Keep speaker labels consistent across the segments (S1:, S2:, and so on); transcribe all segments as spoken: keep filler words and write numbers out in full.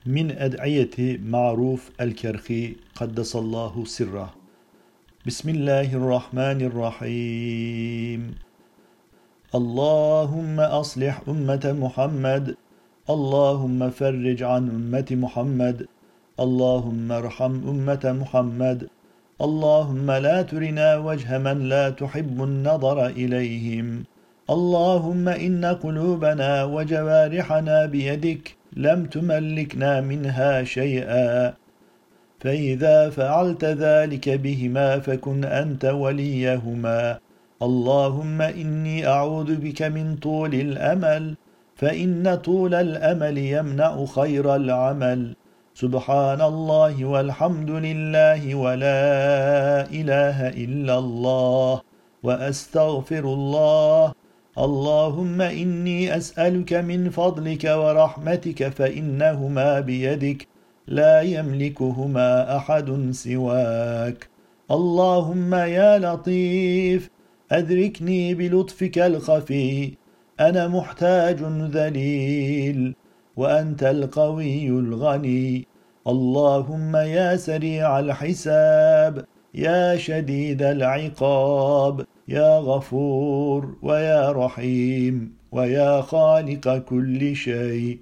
S1: من أدعية معروف الكرخي قدس الله سره. بسم الله الرحمن الرحيم. اللهم أصلح أمة محمد، اللهم فرج عن أمة محمد، اللهم ارحم أمة محمد، اللهم لا ترنا وجه من لا تحب النظر إليهم، اللهم إن قلوبنا وجوارحنا بيدك لم تملكنا منها شيئا، فإذا فعلت ذلك بهما فكن أنت وليهما. اللهم إني أعوذ بك من طول الأمل، فإن طول الأمل يمنع خير العمل. سبحان الله والحمد لله ولا إله إلا الله وأستغفر الله. اللهم إني أسألك من فضلك ورحمتك فإنهما بيدك لا يملكهما أحد سواك. اللهم يا لطيف أدركني بلطفك الخفي، أنا محتاج ذليل وأنت القوي الغني. اللهم يا سريع الحساب، يا شديد العقاب، يا غفور ويا رحيم ويا خالق كل شيء،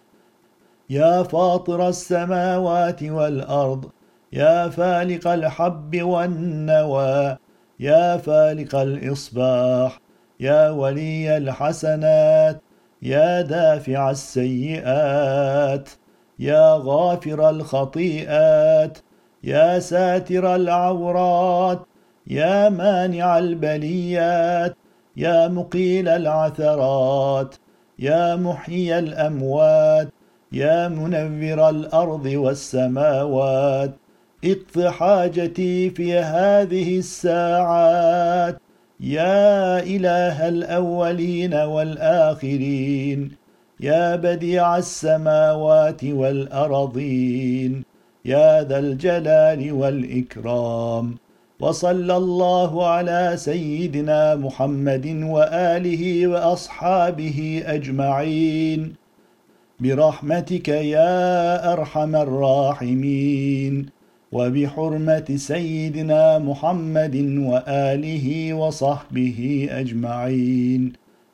S1: يا فاطر السماوات والأرض، يا فالق الحب والنوى، يا فالق الإصباح، يا ولي الحسنات، يا دافع السيئات، يا غافر الخطيئات، يا ساتر العورات، يا مانع البليات، يا مقيل العثرات، يا محيي الأموات، يا منور الأرض والسماوات، اقض حاجتي في هذه الساعات. يا إله الأولين والآخرين، يا بديع السماوات والأرضين، يا ذا الجلال والإكرام. وصلى الله على سيدنا محمد وآله وأصحابه أجمعين برحمتك يا أرحم الراحمين، وبحرمة سيدنا محمد وآله وصحبه أجمعين.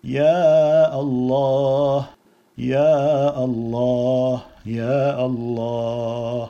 S1: يا الله يا الله يا الله.